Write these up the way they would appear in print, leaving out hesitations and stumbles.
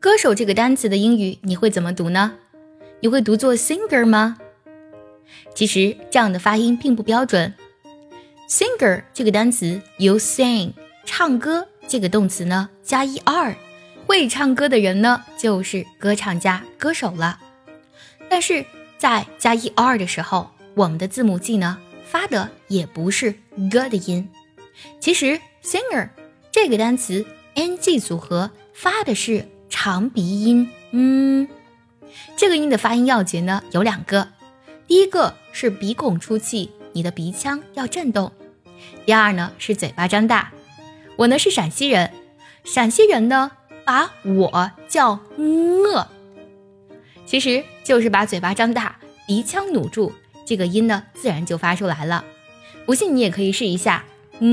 歌手这个单词的英语你会怎么读呢？你会读作 singer 吗？其实这样的发音并不标准。singer 这个单词由 sing 唱歌这个动词呢加 er， 会唱歌的人呢就是歌唱家歌手了。但是在加 er 的时候，我们的字母 G 呢发的也不是 g 的音。其实 singer 这个单词 ng 组合发的是长鼻音这个音的发音要诀呢有2个，第一个是鼻孔出气，你的鼻腔要震动。第二呢是嘴巴张大。我呢是陕西人，陕西人呢把我叫其实就是把嘴巴张大，鼻腔努住，这个音呢自然就发出来了。不信你也可以试一下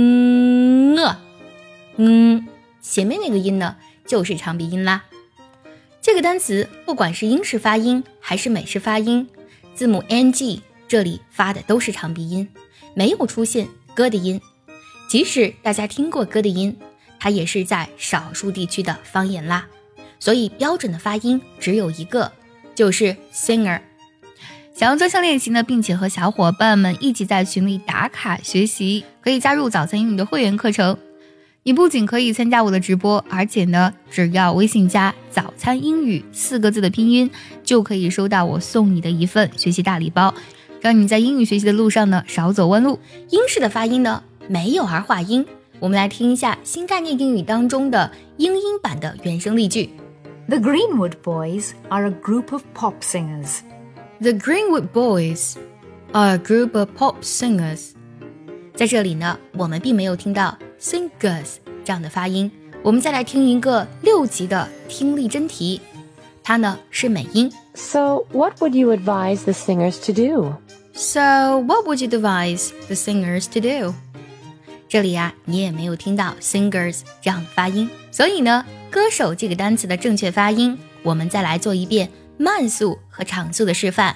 前面那个音呢就是长鼻音啦。这个单词不管是英式发音还是美式发音，字母 ng 这里发的都是长鼻音，没有出现 g 的音。即使大家听过 g 的音，它也是在少数地区的方言啦，所以标准的发音只有一个，就是 singer。 想要专项练习呢，并且和小伙伴们一起在群里打卡学习，可以加入早餐英语的会员课程。你不仅可以参加我的直播，而且呢，只要微信加早餐英语4个字的拼音，就可以收到我送你的一份学习大礼包，让你在英语学习的路上呢少走弯路。英式的发音呢没有儿化音，我们来听一下新概念英语当中的英音版的原声例句。 The Greenwood Boys are a group of pop singers. The Greenwood Boys are a group of pop singers。 在这里呢，我们并没有听到 singers 这样的发音。我们再来听一个6级的听力真题，它呢是美音。 So what would you advise the singers to do? So what would you advise the singers to do? 这里啊，你也没有听到 singers 这样的发音，所以呢，歌手这个单词的正确发音，我们再来做一遍慢速和长速的示范。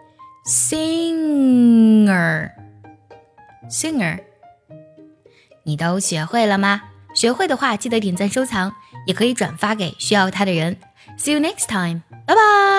Singer， 你都学会了吗？学会的话记得点赞收藏，也可以转发给需要它的人。See you next time， 拜拜。